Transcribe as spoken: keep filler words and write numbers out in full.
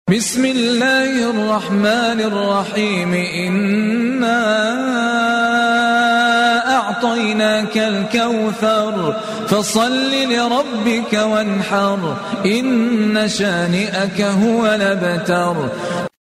بسم الله الرحمن الرحيم إنا أعطيناك الكوثر فصل لربك وانحر إن شانئك هو الأبتر.